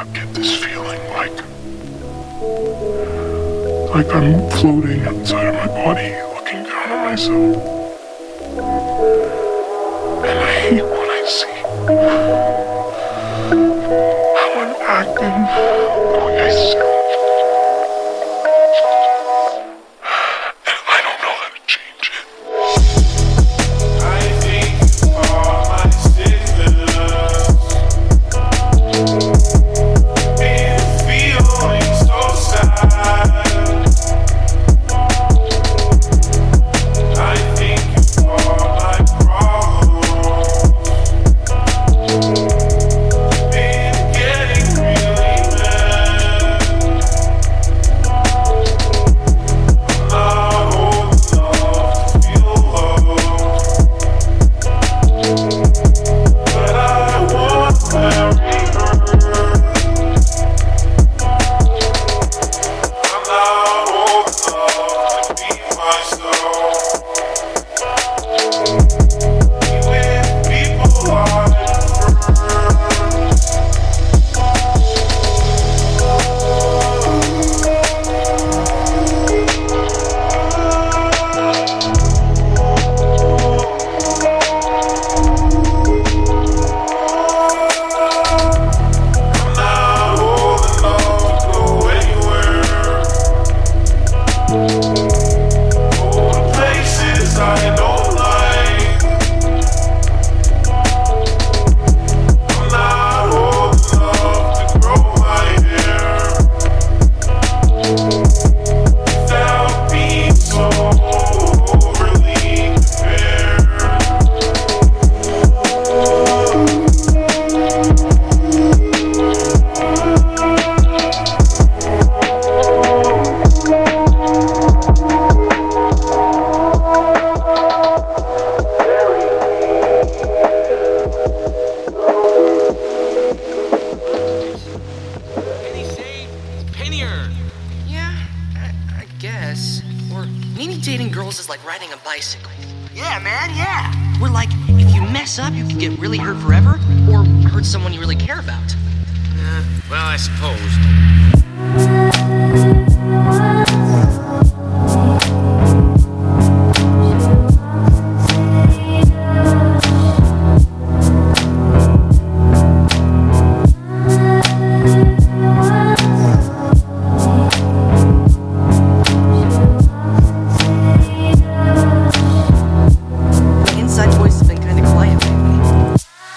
I get this feeling like I'm floating inside of my body, looking down on myself. And I hate what I see. How I'm acting, the way I sound. And I don't know how to change it. I think all my sickness, been feeling so sad. I think all my problems, been getting really mad. I'm not old enough to feel love, but I want to marry her. I'm not old enough to be myself. Be with people I prefer. I'm not old enough to go anywhere. Go to places I don't like. I'm not old enough to grow my hair without being so overly prepared. Penny saved, pennier. Yeah, I guess. Or maybe dating girls is like riding a bicycle. Yeah, man, yeah. Where like, if you mess up, you can get really hurt forever, or hurt someone you really care about. Well, I suppose. My inside voice has been kind of quiet lately.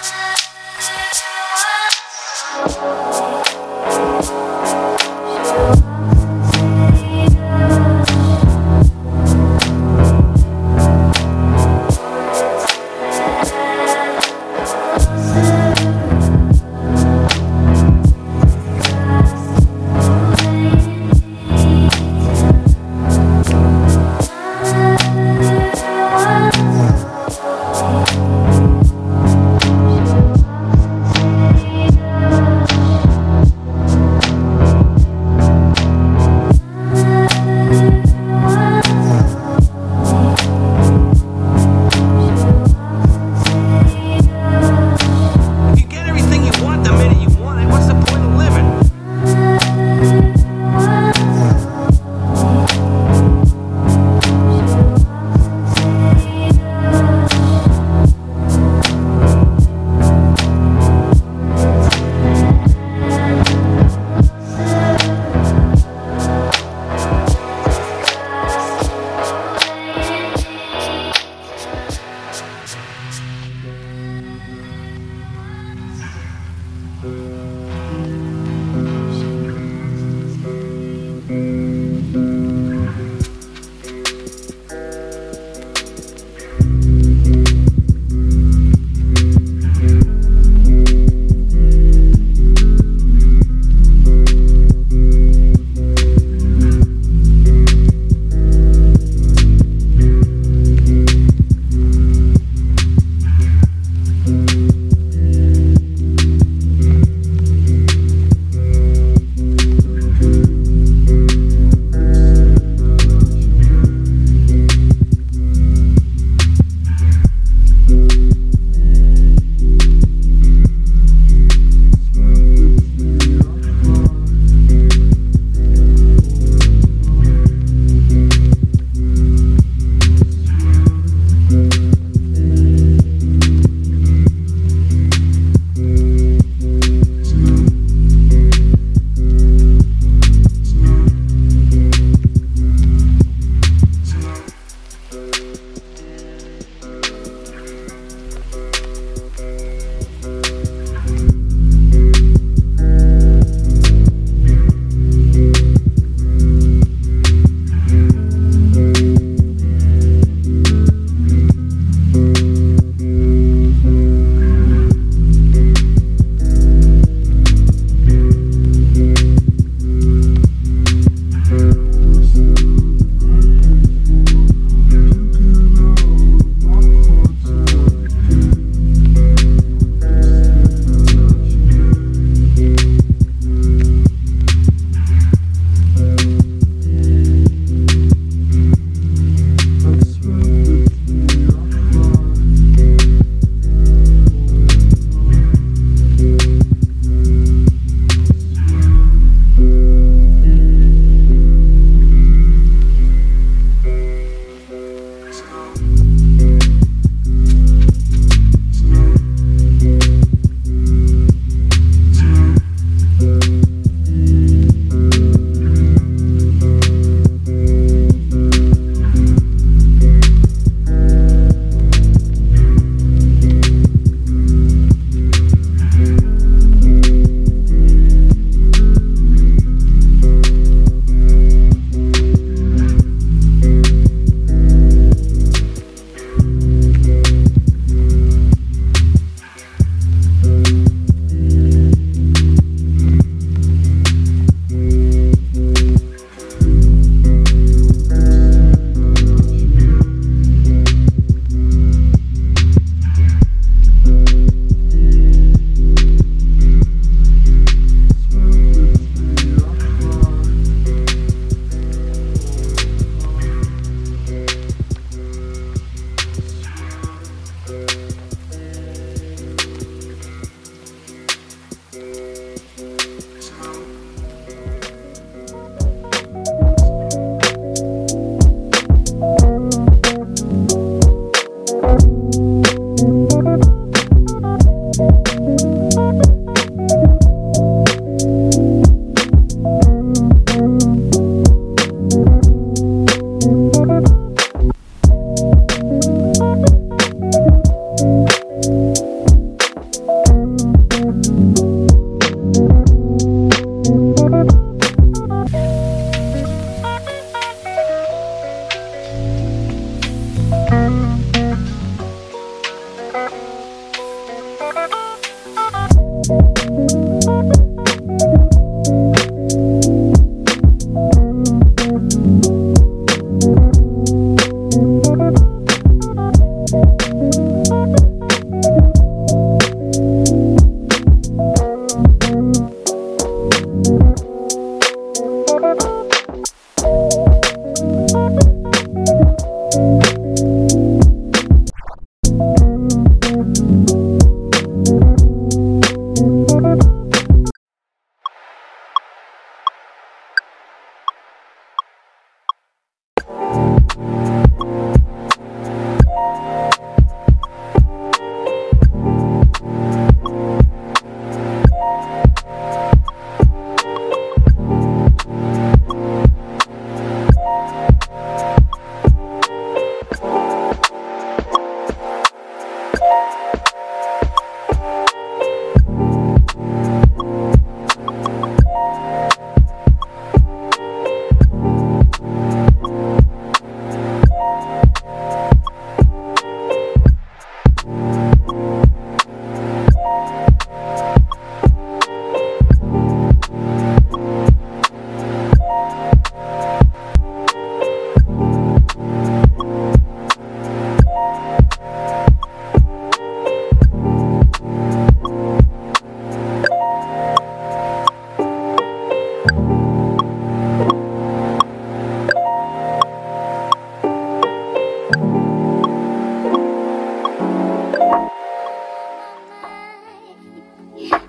If you get everything you want the minute you want it, what's the point of living?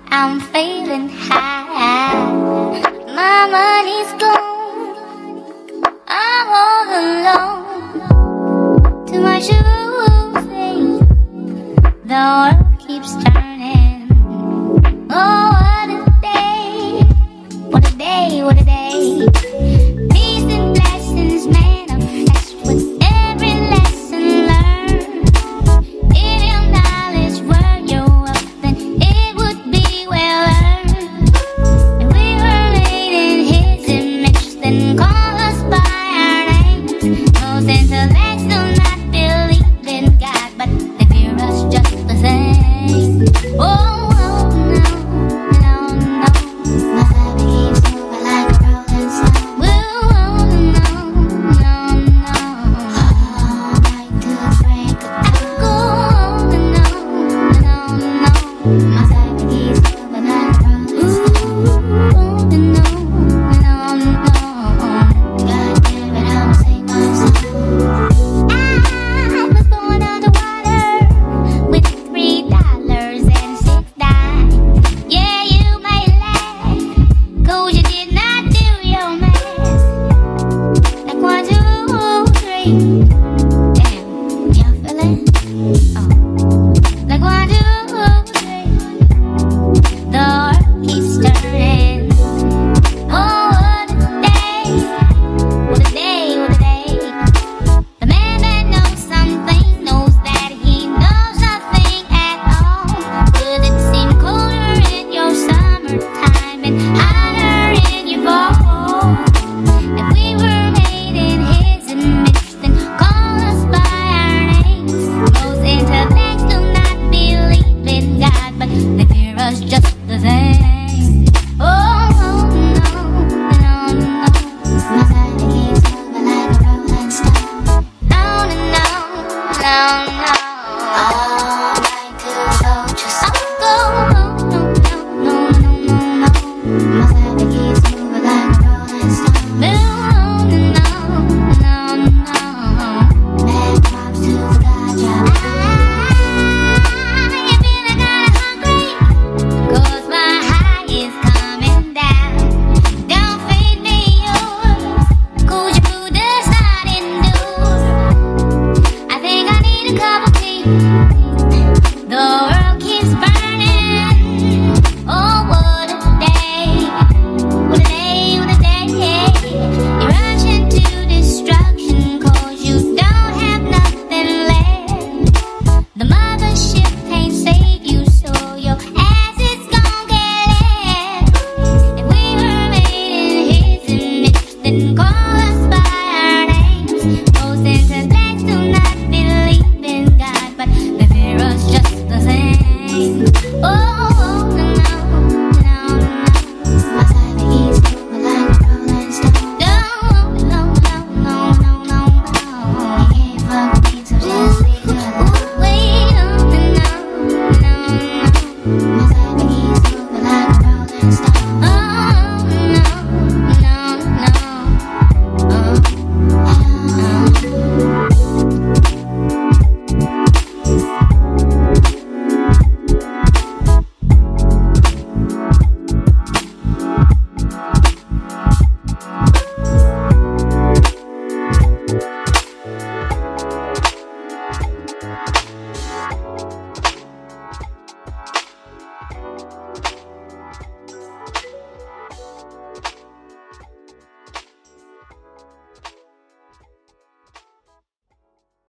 I'm feeling high. My money's gone. I'm all alone. Too much of a thing. The world keeps turning.